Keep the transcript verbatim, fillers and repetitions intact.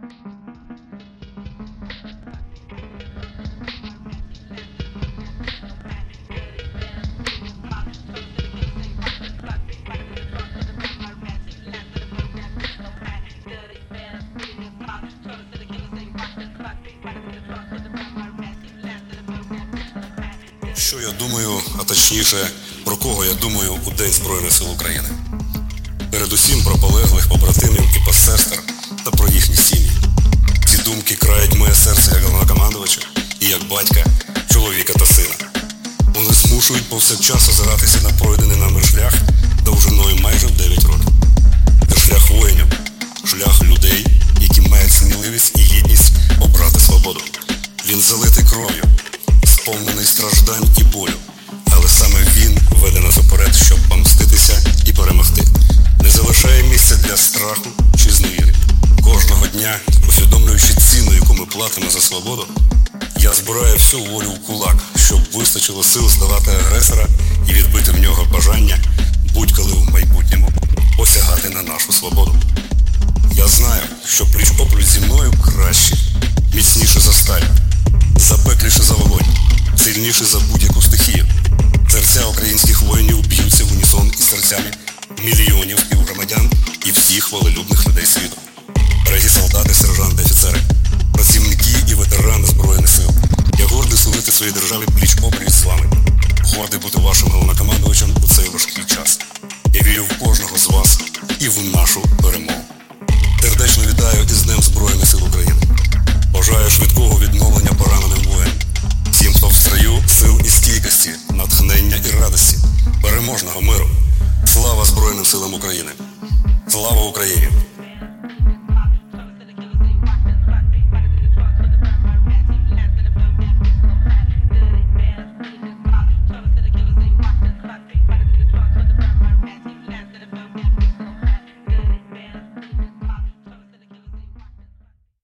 Що я думаю, а точніше, про кого я думаю у День Збройних Сил України? Передусім про полеглих побратимів і посестер та про їхні сім'ї. Ці думки крають моє серце як головнокомандувача і як батька, чоловіка та сина. Вони змушують повсякчас озиратися на пройдений нами шлях довжиною майже в дев'ять років. Це шлях воїнів, шлях людей, які мають сміливість і гідність обрати свободу. Він залитий кров'ю, сповнений страждань і болю, але саме він веде нас уперед, щоб помститися і перемогти. Не залишає місця для страху чи зневіри. Кожного дня, усвідомлюючи ціну, яку ми платимо за свободу, я збираю всю волю в кулак, щоб вистачило сил здолати агресора і відбити в нього бажання будь-коли в майбутньому посягати на нашу свободу. Я знаю, що пліч-опліч зі мною краще, міцніше за сталь, запекліше за вогонь, сильніше за будь-яку стихію. Серця українських воїнів б'ються в унісон із серцями мільйонів співгромадян і всіх волелюбних людей світу.